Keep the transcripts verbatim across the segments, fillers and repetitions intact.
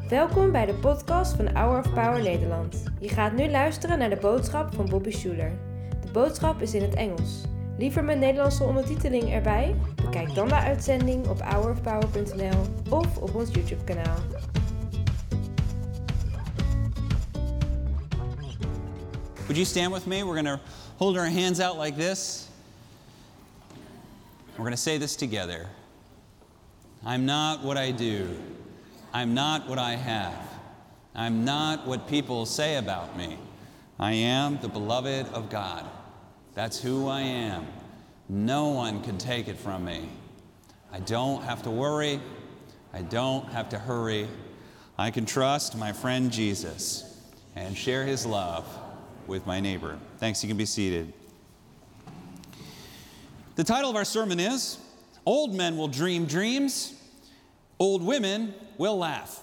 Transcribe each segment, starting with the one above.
Welkom bij de podcast van Hour of Power Nederland. Je gaat nu luisteren naar de boodschap van Bobby Schuler. De boodschap is in het Engels. Liever met Nederlandse ondertiteling erbij? Bekijk dan de uitzending op hour of power punt n l of op ons YouTube kanaal. Would you stand with me? We're going to hold our hands out like this. We're going to say this together. I'm not what I do. I'm not what I have. I'm not what people say about me. I am the beloved of God. That's who I am. No one can take it from me. I don't have to worry. I don't have to hurry. I can trust my friend Jesus and share his love with my neighbor. Thanks, you can be seated. The title of our sermon is, Old Men Will Dream Dreams, Old Women Will Laugh.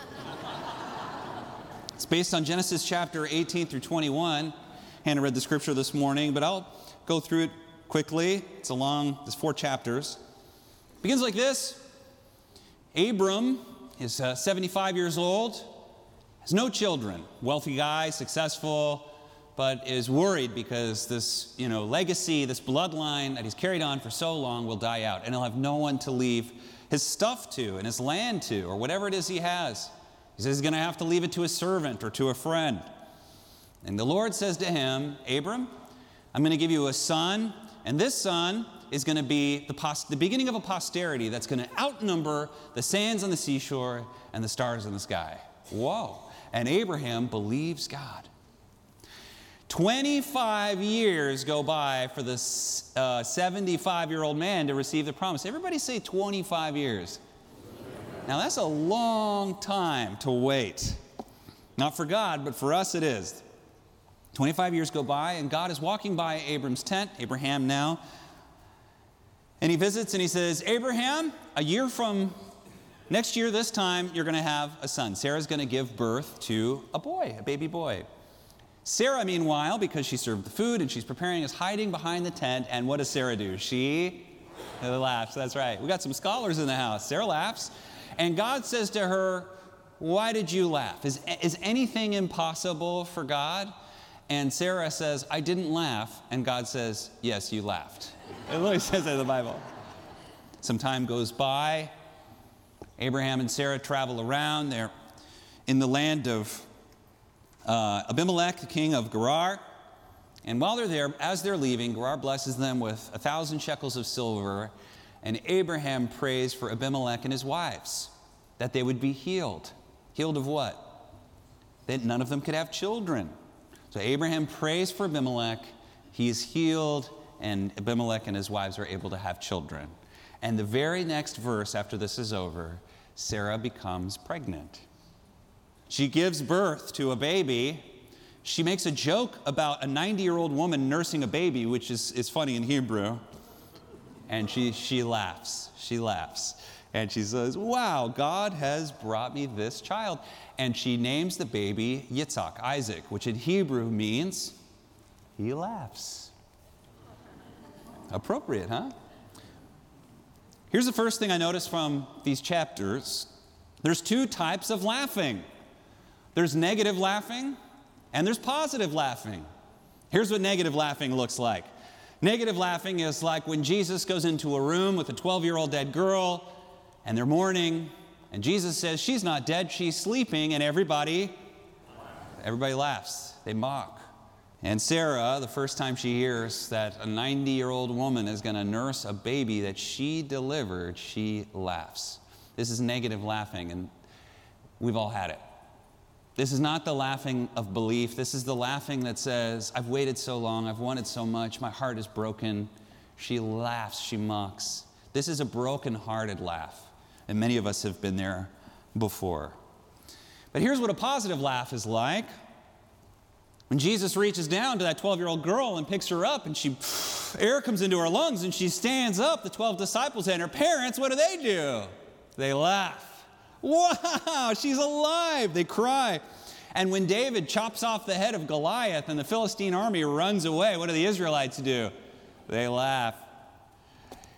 It's based on Genesis chapter eighteen through twenty-one. Hannah read the scripture this morning, but I'll go through it quickly. It's a long, there's four chapters. It begins like this. Abram is uh, seventy-five years old, has no children, wealthy guy, successful, but is worried because this, you know, legacy, this bloodline that he's carried on for so long will die out, and he'll have no one to leave his stuff to and his land to, or whatever it is he has. He says he's going to have to leave it to a servant or to a friend. And the Lord says to him, Abram, I'm going to give you a son, and this son is going to be the, pos- the beginning of a posterity that's going to outnumber the sands on the seashore and the stars in the sky. Whoa. And Abraham believes God. twenty-five years go by for this uh, seventy-five-year-old man to receive the promise. Everybody say twenty-five years. Now that's a long time to wait. Not for God, but for us it is. twenty-five years go by, and God is walking by Abram's tent, Abraham now, and he visits and he says, Abraham, a year from next year this time, you're going to have a son. Sarah's going to give birth to a boy, a baby boy. Sarah, meanwhile, because she served the food and she's preparing, is hiding behind the tent. And what does Sarah do? She laughs. That's right. We got some scholars in the house. Sarah laughs. And God says to her, why did you laugh? Is, is anything impossible for God? And Sarah says, I didn't laugh. And God says, yes, you laughed. It literally says that in the Bible. Some time goes by. Abraham and Sarah travel around. They're in the land of Uh, Abimelech, the king of Gerar. And while they're there, as they're leaving, Gerar blesses them with a thousand shekels of silver. And Abraham prays for Abimelech and his wives, that they would be healed. Healed of what? That none of them could have children. So Abraham prays for Abimelech. He is healed, and Abimelech and his wives are able to have children. And the very next verse after this is over, Sarah becomes pregnant. She gives birth to a baby. She makes a joke about a ninety-year-old woman nursing a baby, which is, is funny in Hebrew. And she, she laughs. She laughs. And she says, wow, God has brought me this child. And she names the baby Yitzhak, Isaac, which in Hebrew means he laughs. Appropriate, huh? Here's the first thing I noticed from these chapters. There's two types of laughing. There's negative laughing, and there's positive laughing. Here's what negative laughing looks like. Negative laughing is like when Jesus goes into a room with a twelve-year-old dead girl, and they're mourning, and Jesus says, she's not dead, she's sleeping, and everybody, everybody laughs. They mock. And Sarah, the first time she hears that a ninety-year-old woman is going to nurse a baby that she delivered, she laughs. This is negative laughing, and we've all had it. This is not the laughing of belief. This is the laughing that says, I've waited so long, I've wanted so much, my heart is broken. She laughs, she mocks. This is a broken-hearted laugh, and many of us have been there before. But here's what a positive laugh is like. When Jesus reaches down to that twelve-year-old girl and picks her up, and she, air comes into her lungs, and she stands up, the twelve disciples and her parents, what do they do? They laugh. Wow, she's alive. They cry. And when David chops off the head of Goliath and the Philistine army runs away, what do the Israelites do? They laugh.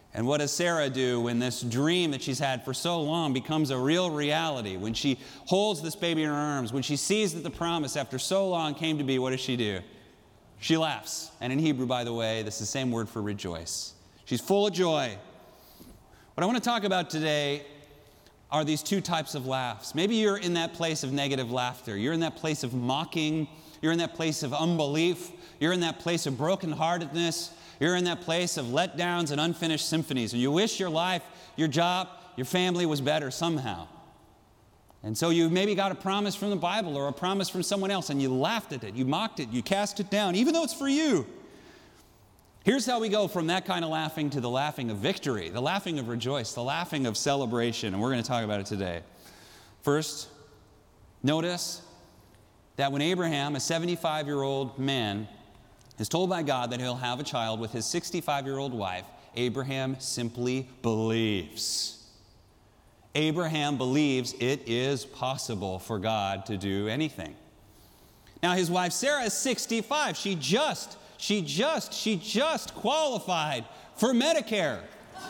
And what does Sarah do when this dream that she's had for so long becomes a real reality? When she holds this baby in her arms, when she sees that the promise after so long came to be, what does she do? She laughs. And in Hebrew, by the way, this is the same word for rejoice. She's full of joy. What I want to talk about today are these two types of laughs. Maybe you're in that place of negative laughter. You're in that place of mocking. You're in that place of unbelief. You're in that place of brokenheartedness. You're in that place of letdowns and unfinished symphonies. And you wish your life, your job, your family was better somehow. And so you maybe got a promise from the Bible or a promise from someone else, and you laughed at it, you mocked it, you cast it down, even though it's for you. Here's how we go from that kind of laughing to the laughing of victory, the laughing of rejoice, the laughing of celebration, and we're going to talk about it today. First, notice that when Abraham, a seventy-five-year-old man, is told by God that he'll have a child with his sixty-five-year-old wife, Abraham simply believes. Abraham believes it is possible for God to do anything. Now, his wife Sarah is sixty-five. She just, she just, she just qualified for Medicare.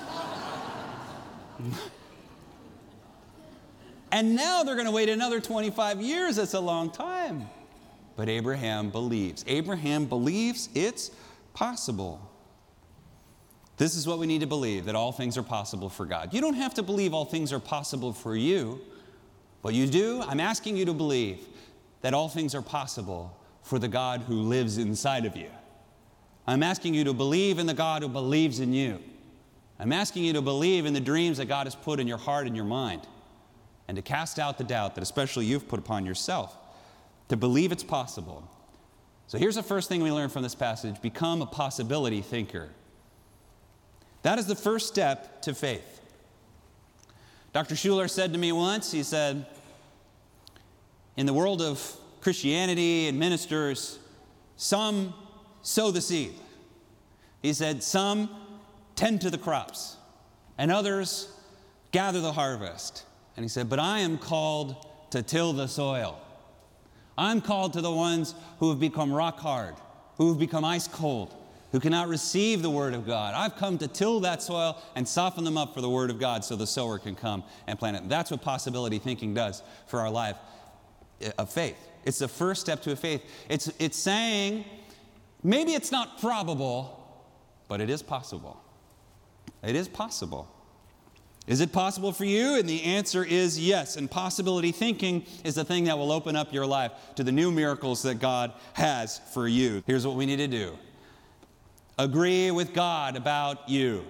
And now they're going to wait another twenty-five years. That's a long time. But Abraham believes. Abraham believes it's possible. This is what we need to believe, that all things are possible for God. You don't have to believe all things are possible for you. But you do. I'm asking you to believe that all things are possible for the God who lives inside of you. I'm asking you to believe in the God who believes in you. I'm asking you to believe in the dreams that God has put in your heart and your mind, and to cast out the doubt that especially you've put upon yourself, to believe it's possible. So here's the first thing we learn from this passage. Become a possibility thinker. That is the first step to faith. Doctor Schuller said to me once, he said, in the world of Christianity and ministers, some sow the seed. He said, some tend to the crops, and others gather the harvest. And he said, but I am called to till the soil. I'm called to the ones who have become rock hard, who have become ice cold, who cannot receive the Word of God. I've come to till that soil and soften them up for the Word of God so the sower can come and plant it. That's what possibility thinking does for our life of faith. It's the first step to a faith. It's, it's saying, maybe it's not probable, but it is possible. It is possible. Is it possible for you? And the answer is yes. And possibility thinking is the thing that will open up your life to the new miracles that God has for you. Here's what we need to do. Agree with God about you.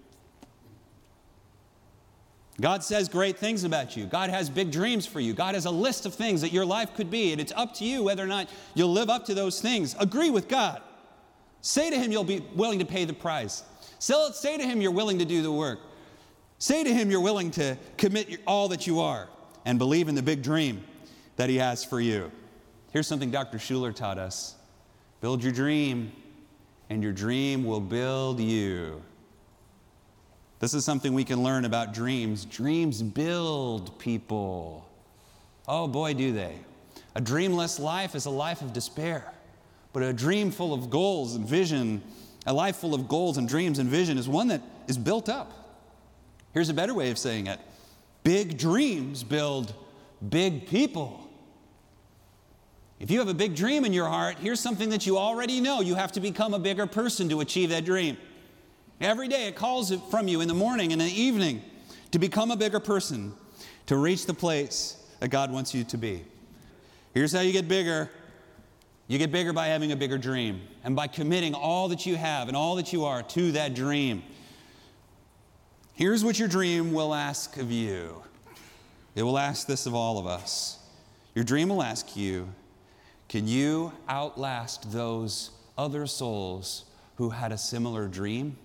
God says great things about you. God has big dreams for you. God has a list of things that your life could be, and it's up to you whether or not you'll live up to those things. Agree with God. Say to Him you'll be willing to pay the price. Say to Him you're willing to do the work. Say to Him you're willing to commit all that you are and believe in the big dream that He has for you. Here's something Doctor Schuller taught us. Build your dream, and your dream will build you. This is something we can learn about dreams. Dreams build people. Oh boy, do they. A dreamless life is a life of despair. But a dream full of goals and vision, a life full of goals and dreams and vision is one that is built up. Here's a better way of saying it. Big dreams build big people. If you have a big dream in your heart, here's something that you already know. You have to become a bigger person to achieve that dream. Every day it calls it from you in the morning and in the evening to become a bigger person, to reach the place that God wants you to be. Here's how you get bigger. You get bigger by having a bigger dream and by committing all that you have and all that you are to that dream. Here's what your dream will ask of you. It will ask this of all of us. Your dream will ask you, can you outlast those other souls who had a similar dream?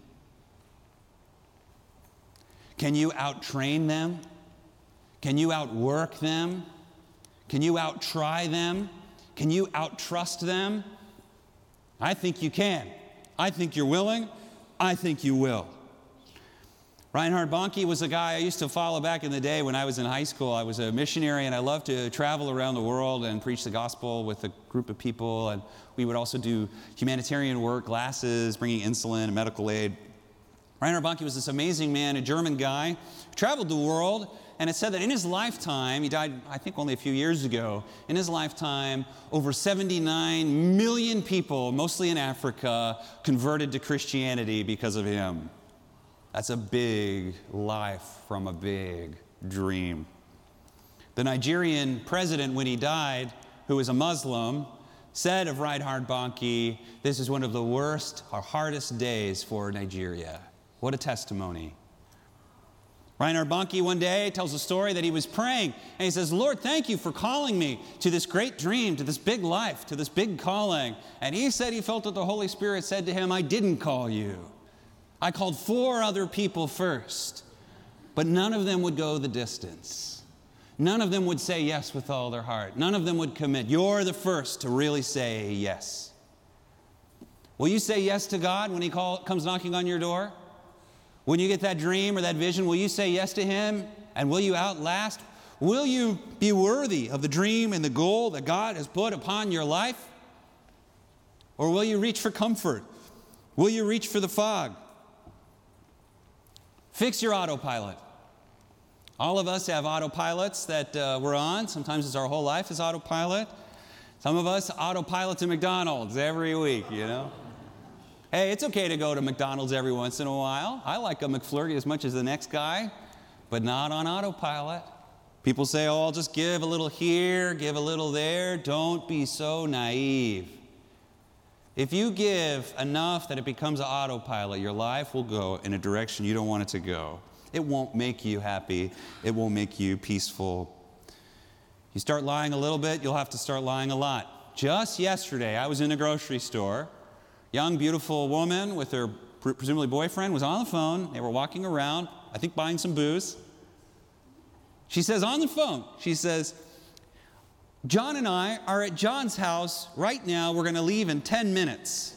Can you outtrain them? Can you outwork them? Can you outtry them? Can you outtrust them? I think you can. I think you're willing. I think you will. Reinhard Bonnke was a guy I used to follow back in the day when I was in high school. I was a missionary, and I loved to travel around the world and preach the gospel with a group of people. And we would also do humanitarian work, glasses, bringing insulin and medical aid. Reinhard Bonnke was this amazing man, a German guy, who traveled the world, and it said that in his lifetime, he died, I think, only a few years ago, in his lifetime, over seventy-nine million people, mostly in Africa, converted to Christianity because of him. That's a big life from a big dream. The Nigerian president, when he died, who was a Muslim, said of Reinhard Bonnke, "This is one of the worst or hardest days for Nigeria." What a testimony. Reinhard Bonnke one day tells a story that he was praying, and he says, "Lord, thank you for calling me to this great dream, to this big life, to this big calling." And he said he felt that the Holy Spirit said to him, "I didn't call you. I called four other people first, but none of them would go the distance. None of them would say yes with all their heart. None of them would commit. You're the first to really say yes." Will you say yes to God when He call, comes knocking on your door? When you get that dream or that vision, will you say yes to Him? And will you outlast? Will you be worthy of the dream and the goal that God has put upon your life? Or will you reach for comfort? Will you reach for the fog? Fix your autopilot. All of us have autopilots that uh, we're on. Sometimes it's our whole life is autopilot. Some of us autopilot to McDonald's every week, you know. Hey, it's okay to go to McDonald's every once in a while. I like a McFlurry as much as the next guy, but not on autopilot. People say, "Oh, I'll just give a little here, give a little there." Don't be so naive. If you give enough that it becomes an autopilot, your life will go in a direction you don't want it to go. It won't make you happy. It won't make you peaceful. You start lying a little bit, you'll have to start lying a lot. Just yesterday, I was in a grocery store. Young, beautiful woman with her presumably boyfriend was on the phone. They were walking around, I think buying some booze. She says on the phone, she says, "John and I are at John's house right now. We're going to leave in ten minutes.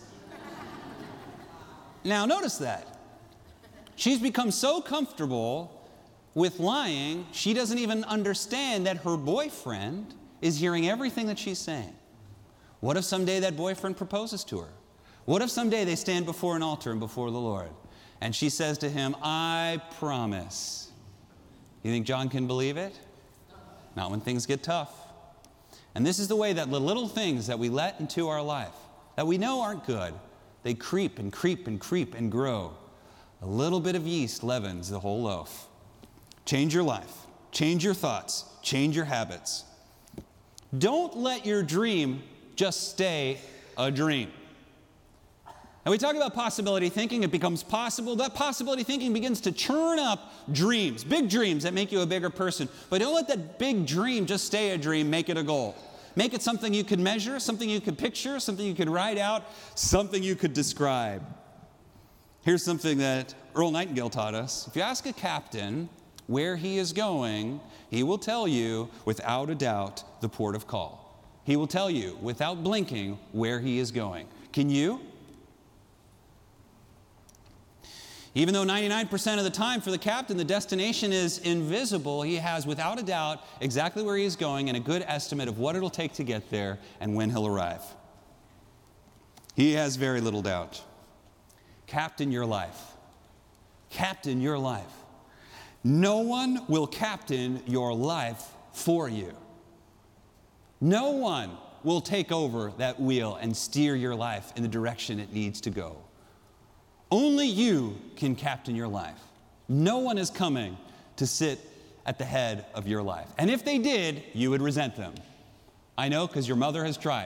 Now, notice that. She's become so comfortable with lying, she doesn't even understand that her boyfriend is hearing everything that she's saying. What if someday that boyfriend proposes to her? What if someday they stand before an altar and before the Lord? And she says to him, "I promise." You think John can believe it? Not when things get tough. And this is the way that the little things that we let into our life, that we know aren't good, they creep and creep and creep and grow. A little bit of yeast leavens the whole loaf. Change your life. Change your thoughts. Change your habits. Don't let your dream just stay a dream. And we talk about possibility thinking. It becomes possible. That possibility thinking begins to churn up dreams, big dreams that make you a bigger person. But don't let that big dream just stay a dream. Make it a goal. Make it something you could measure, something you could picture, something you could write out, something you could describe. Here's something that Earl Nightingale taught us. If you ask a captain where he is going, he will tell you, without a doubt, the port of call. He will tell you, without blinking, where he is going. Can you? Even though ninety-nine percent of the time for the captain, the destination is invisible, he has, without a doubt, exactly where he is going and a good estimate of what it'll take to get there and when he'll arrive. He has very little doubt. Captain your life. Captain your life. No one will captain your life for you. No one will take over that wheel and steer your life in the direction it needs to go. Only you can captain your life. No one is coming to sit at the head of your life. And if they did, you would resent them. I know, because your mother has tried.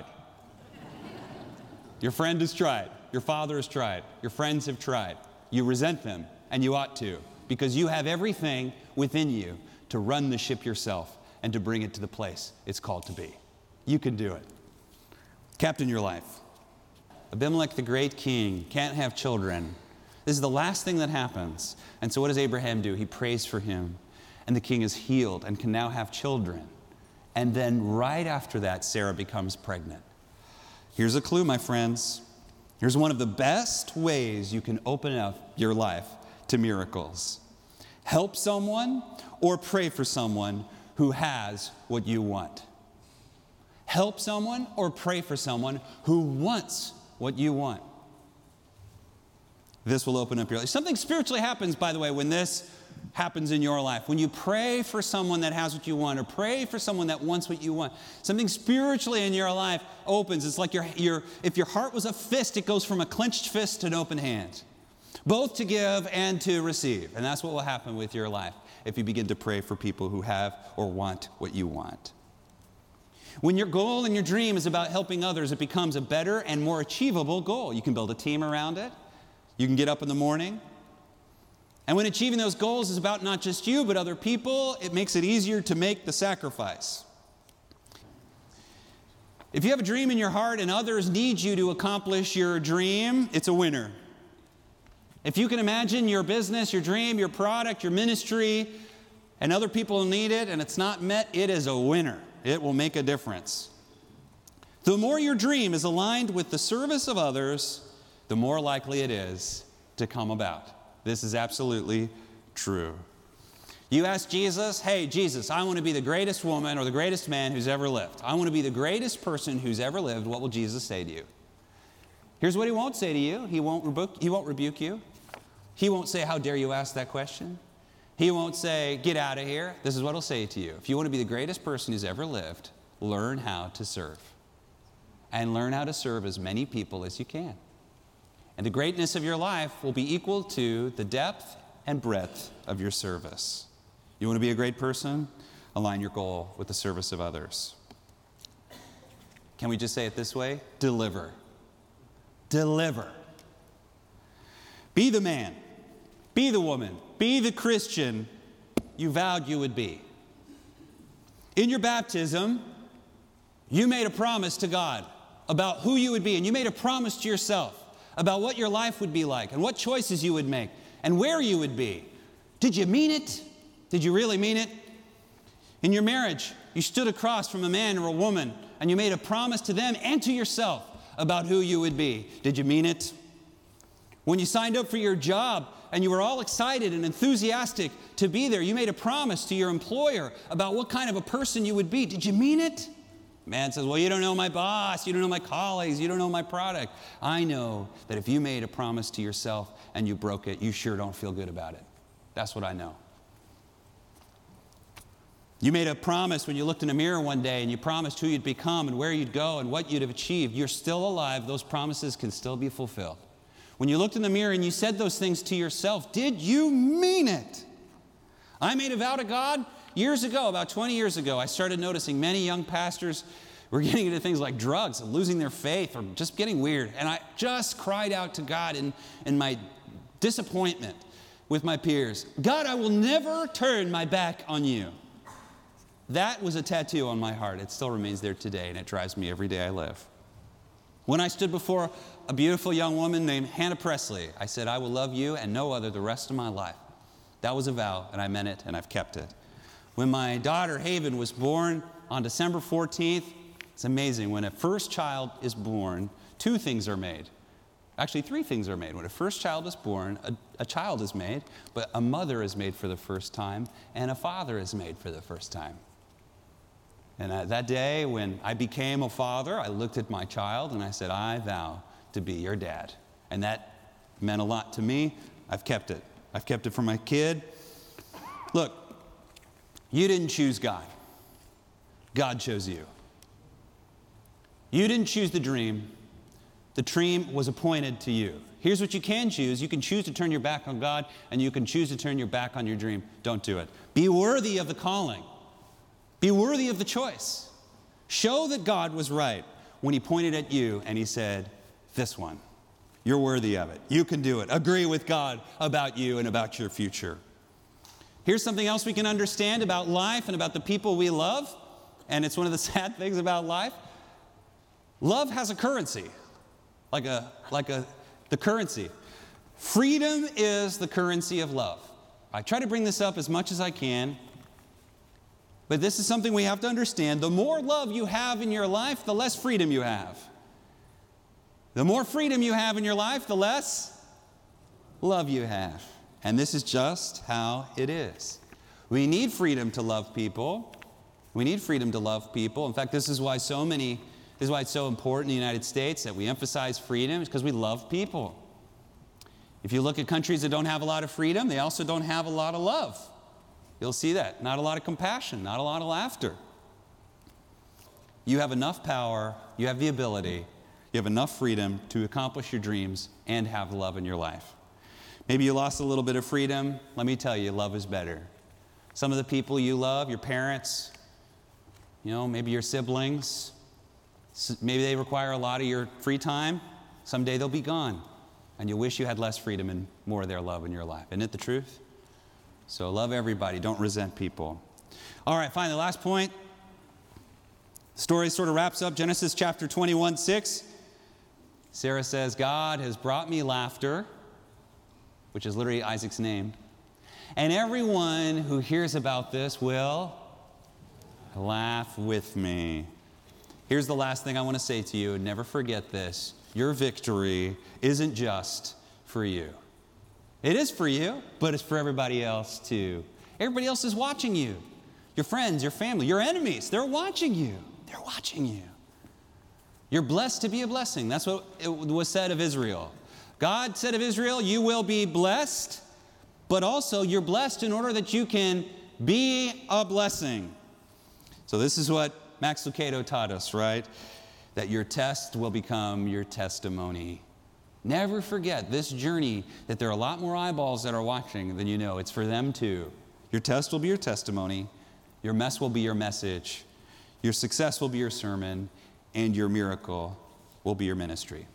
Your friend has tried. Your father has tried. Your friends have tried. You resent them, and you ought to, because you have everything within you to run the ship yourself and to bring it to the place it's called to be. You can do it. Captain your life. Abimelech, the great king, can't have children. This is the last thing that happens. And so what does Abraham do? He prays for him. And the king is healed and can now have children. And then right after that, Sarah becomes pregnant. Here's a clue, my friends. Here's one of the best ways you can open up your life to miracles. Help someone or pray for someone who has what you want. Help someone or pray for someone who wants what you want. this will open up your life. Something spiritually happens, by the way, when this happens in your life. When you pray for someone that has what you want, or pray for someone that wants what you want, something spiritually in your life opens. It's like your, your, if your heart was a fist, it goes from a clenched fist to an open hand, both to give and to receive. And that's what will happen with your life if you begin to pray for people who have or want what you want. When your goal and your dream is about helping others, it becomes a better and more achievable goal. You can build a team around it. You can get up in the morning. And when achieving those goals is about not just you, but other people, it makes it easier to make the sacrifice. If you have a dream in your heart and others need you to accomplish your dream, it's a winner. If you can imagine your business, your dream, your product, your ministry, and other people need it, and it's not met, it is a winner. It will make a difference. The more your dream is aligned with the service of others, the more likely it is to come about. This is absolutely true. You ask Jesus, hey, Jesus, I want to be the greatest woman or the greatest man who's ever lived. I want to be the greatest person who's ever lived. What will Jesus say to you? Here's what he won't say to you. He won't rebuke, he won't rebuke you. He won't say, how dare you ask that question? He won't say, get out of here. This is what he'll say to you. If you want to be the greatest person who's ever lived, learn how to serve. And learn how to serve as many people as you can. And the greatness of your life will be equal to the depth and breadth of your service. You want to be a great person? Align your goal with the service of others. Can we just say it this way? Deliver. Deliver. Be the man. Be the woman. Be the Christian you vowed you would be. In your baptism, you made a promise to God about who you would be, and you made a promise to yourself about what your life would be like and what choices you would make and where you would be. Did you mean it? Did you really mean it? In your marriage, you stood across from a man or a woman and you made a promise to them and to yourself about who you would be. Did you mean it? When you signed up for your job and you were all excited and enthusiastic to be there, you made a promise to your employer about what kind of a person you would be. Did you mean it? Man says, well, you don't know my boss, you don't know my colleagues, you don't know my product. I know that if you made a promise to yourself and you broke it, you sure don't feel good about it. That's what I know. You made a promise when you looked in a mirror one day and you promised who you'd become and where you'd go and what you'd have achieved. You're still alive. Those promises can still be fulfilled. When you looked in the mirror and you said those things to yourself, did you mean it? I made a vow to God years ago, about twenty years ago. I started noticing many young pastors were getting into things like drugs and losing their faith or just getting weird. And I just cried out to God in, in my disappointment with my peers. God, I will never turn my back on you. That was a tattoo on my heart. It still remains there today, and it drives me every day I live. When I stood before a beautiful young woman named Hannah Presley, I said, I will love you and no other the rest of my life. That was a vow, and I meant it, and I've kept it. When my daughter Haven was born on December fourteenth, it's amazing. When a first child is born, two things are made. Actually, three things are made. When a first child is born, a, a child is made, but a mother is made for the first time, and a father is made for the first time. And uh, that day when I became a father, I looked at my child and I said, I vow to be your dad. And that meant a lot to me. I've kept it. I've kept it for my kid. Look, you didn't choose God. God chose you. You didn't choose the dream. The dream was appointed to you. Here's what you can choose. You can choose to turn your back on God, and you can choose to turn your back on your dream. Don't do it. Be worthy of the calling. Be worthy of the choice. Show that God was right when he pointed at you and he said, this one, you're worthy of it. You can do it. Agree with God about you and about your future. Here's something else we can understand about life and about the people we love. And it's one of the sad things about life. Love has a currency, like a, like a, the currency. Freedom is the currency of love. I try to bring this up as much as I can. But this is something we have to understand. The more love you have in your life, the less freedom you have. The more freedom you have in your life, the less love you have. And this is just how it is. We need freedom to love people. We need freedom to love people. In fact, this is why so many, this is why it's so important in the United States that we emphasize freedom, is because we love people. If you look at countries that don't have a lot of freedom, they also don't have a lot of love. You'll see that. Not a lot of compassion, not a lot of laughter. You have enough power, you have the ability, you have enough freedom to accomplish your dreams and have love in your life. Maybe you lost a little bit of freedom. Let me tell you, love is better. Some of the people you love, your parents, you know, maybe your siblings, maybe they require a lot of your free time. Someday they'll be gone, and you wish you had less freedom and more of their love in your life. Isn't it the truth? So love everybody. Don't resent people. All right, finally, last point. The story sort of wraps up. Genesis chapter twenty-one, six. Sarah says, God has brought me laughter, which is literally Isaac's name. And everyone who hears about this will laugh with me. Here's the last thing I want to say to you, and never forget this. Your victory isn't just for you. It is for you, but it's for everybody else too. Everybody else is watching you. Your friends, your family, your enemies, they're watching you. They're watching you. You're blessed to be a blessing. That's what it was said of Israel. God said of Israel, you will be blessed, but also you're blessed in order that you can be a blessing. So this is what Max Lucado taught us, right? That your test will become your testimony. Never forget this journey, that there are a lot more eyeballs that are watching than you know. It's for them too. Your test will be your testimony. Your mess will be your message. Your success will be your sermon. And your miracle will be your ministry.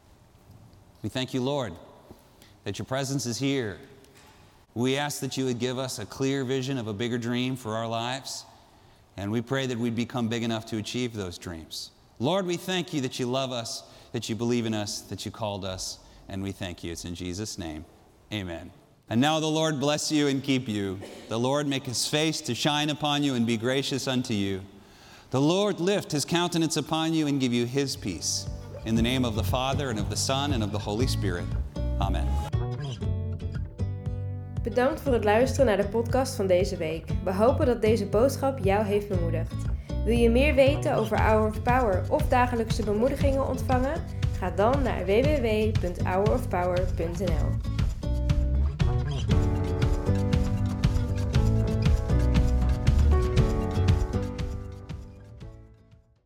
We thank you, Lord, that your presence is here. We ask that you would give us a clear vision of a bigger dream for our lives. And we pray that we'd become big enough to achieve those dreams. Lord, we thank you that you love us, that you believe in us, that you called us, and we thank you. It's in Jesus' name. Amen. And now the Lord bless you and keep you. The Lord make his face to shine upon you and be gracious unto you. The Lord lift his countenance upon you and give you his peace. In the name of the Father, and of the Son, and of the Holy Spirit. Amen. Bedankt voor het luisteren naar de podcast van deze week. We hopen dat deze boodschap jou heeft bemoedigd. Wil je meer weten over Hour of Power of dagelijkse bemoedigingen ontvangen? Ga dan naar w w w punt hour of power punt n l.